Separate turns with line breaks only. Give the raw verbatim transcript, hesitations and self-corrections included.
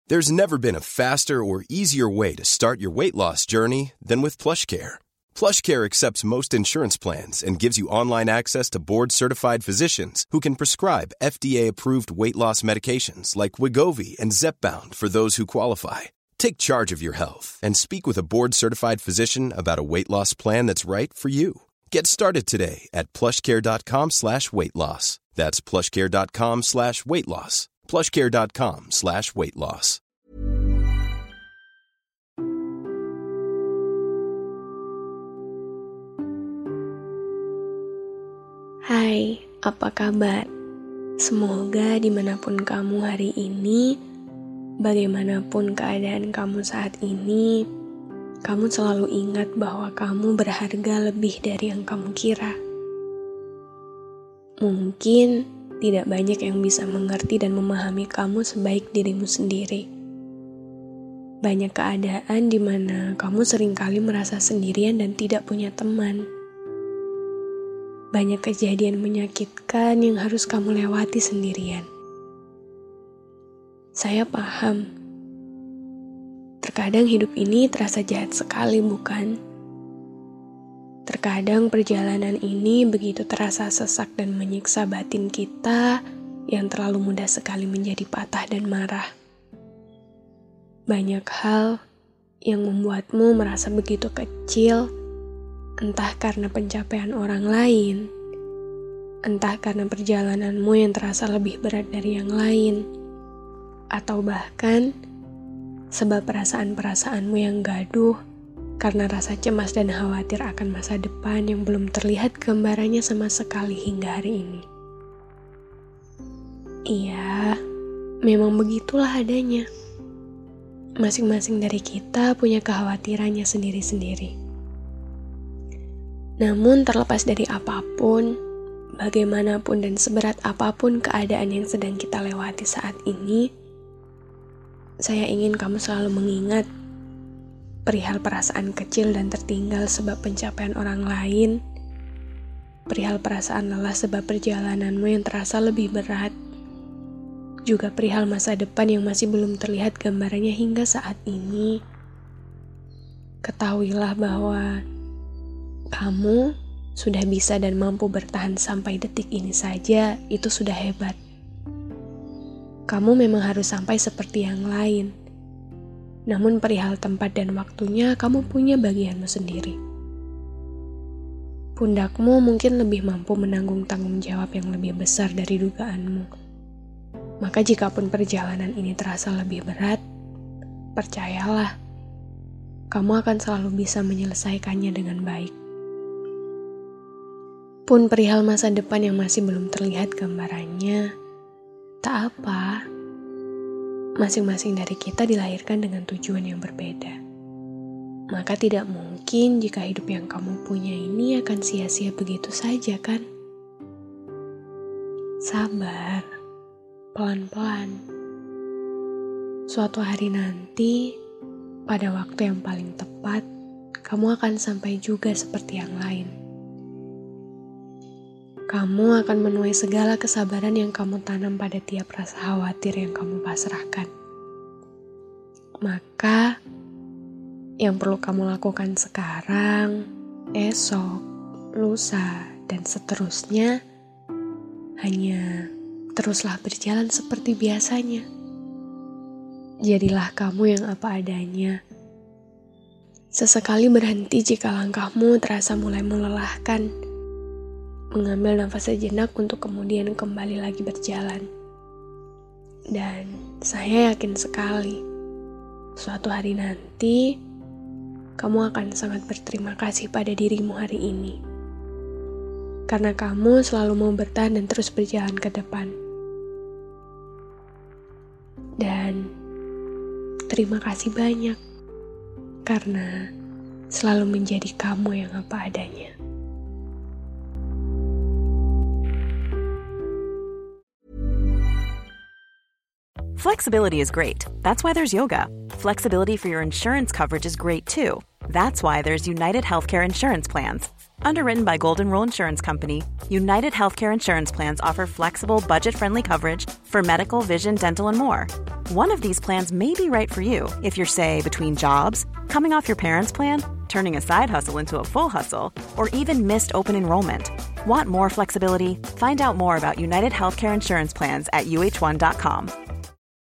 There's never been a faster or easier way to start your weight loss journey than with PlushCare. PlushCare accepts most insurance plans and gives you online access to board-certified physicians who can prescribe F D A-approved weight loss medications like Wegovy and Zepbound for those who qualify. Take charge of your health and speak with a board-certified physician about a weight loss plan that's right for you. Get started today at plushcare.com slash weight loss. That's plushcare.com slash weight loss. plushcare.com slash weight loss.
Hai, apa kabar? Semoga dimanapun kamu hari ini, bagaimanapun keadaan kamu saat ini, kamu selalu ingat bahwa kamu berharga lebih dari yang kamu kira. Mungkin tidak banyak yang bisa mengerti dan memahami kamu sebaik dirimu sendiri. Banyak keadaan di mana kamu seringkali merasa sendirian dan tidak punya teman. Banyak kejadian menyakitkan yang harus kamu lewati sendirian. Saya paham. Terkadang hidup ini terasa jahat sekali, bukan? Terkadang perjalanan ini begitu terasa sesak dan menyiksa batin kita yang terlalu mudah sekali menjadi patah dan marah. Banyak hal yang membuatmu merasa begitu kecil, entah karena pencapaian orang lain, entah karena perjalananmu yang terasa lebih berat dari yang lain, atau bahkan sebab perasaan-perasaanmu yang gaduh karena rasa cemas dan khawatir akan masa depan yang belum terlihat gambarannya sama sekali hingga hari ini. Iya, memang begitulah adanya. Masing-masing dari kita punya kekhawatirannya sendiri-sendiri. Namun terlepas dari apapun, bagaimanapun dan seberat apapun keadaan yang sedang kita lewati saat ini, saya ingin kamu selalu mengingat perihal perasaan kecil dan tertinggal sebab pencapaian orang lain, perihal perasaan lelah sebab perjalananmu yang terasa lebih berat, juga perihal masa depan yang masih belum terlihat gambarannya hingga saat ini. Ketahuilah bahwa kamu sudah bisa dan mampu bertahan sampai detik ini saja, itu sudah hebat. Kamu memang harus sampai seperti yang lain. Namun perihal tempat dan waktunya, kamu punya bagianmu sendiri. Pundakmu mungkin lebih mampu menanggung tanggung jawab yang lebih besar dari dugaanmu. Maka jikapun perjalanan ini terasa lebih berat, percayalah, kamu akan selalu bisa menyelesaikannya dengan baik. Pun perihal masa depan yang masih belum terlihat gambarannya, tak apa. Masing-masing dari kita dilahirkan dengan tujuan yang berbeda. Maka tidak mungkin jika hidup yang kamu punya ini akan sia-sia begitu saja, kan? Sabar, pelan-pelan. Suatu hari nanti, pada waktu yang paling tepat, kamu akan sampai juga seperti yang lain. Kamu akan menuai segala kesabaran yang kamu tanam pada tiap rasa khawatir yang kamu pasrahkan. Maka, yang perlu kamu lakukan sekarang, esok, lusa, dan seterusnya, hanya teruslah berjalan seperti biasanya. Jadilah kamu yang apa adanya. Sesekali berhenti jika langkahmu terasa mulai melelahkan. Mengambil nafas sejenak untuk kemudian kembali lagi berjalan. Dan saya yakin sekali, suatu hari nanti, kamu akan sangat berterima kasih pada dirimu hari ini. Karena kamu selalu mau bertahan dan terus berjalan ke depan. Dan terima kasih banyak, karena selalu menjadi kamu yang apa adanya.
Flexibility is great. That's why there's yoga. Flexibility for your insurance coverage is great too. That's why there's United Healthcare Insurance Plans. Underwritten by Golden Rule Insurance Company, United Healthcare Insurance Plans offer flexible, budget-friendly coverage for medical, vision, dental, and more. One of these plans may be right for you if you're, say, between jobs, coming off your parents' plan, turning a side hustle into a full hustle, or even missed open enrollment. Want more flexibility? Find out more about United Healthcare Insurance Plans at U H one dot com.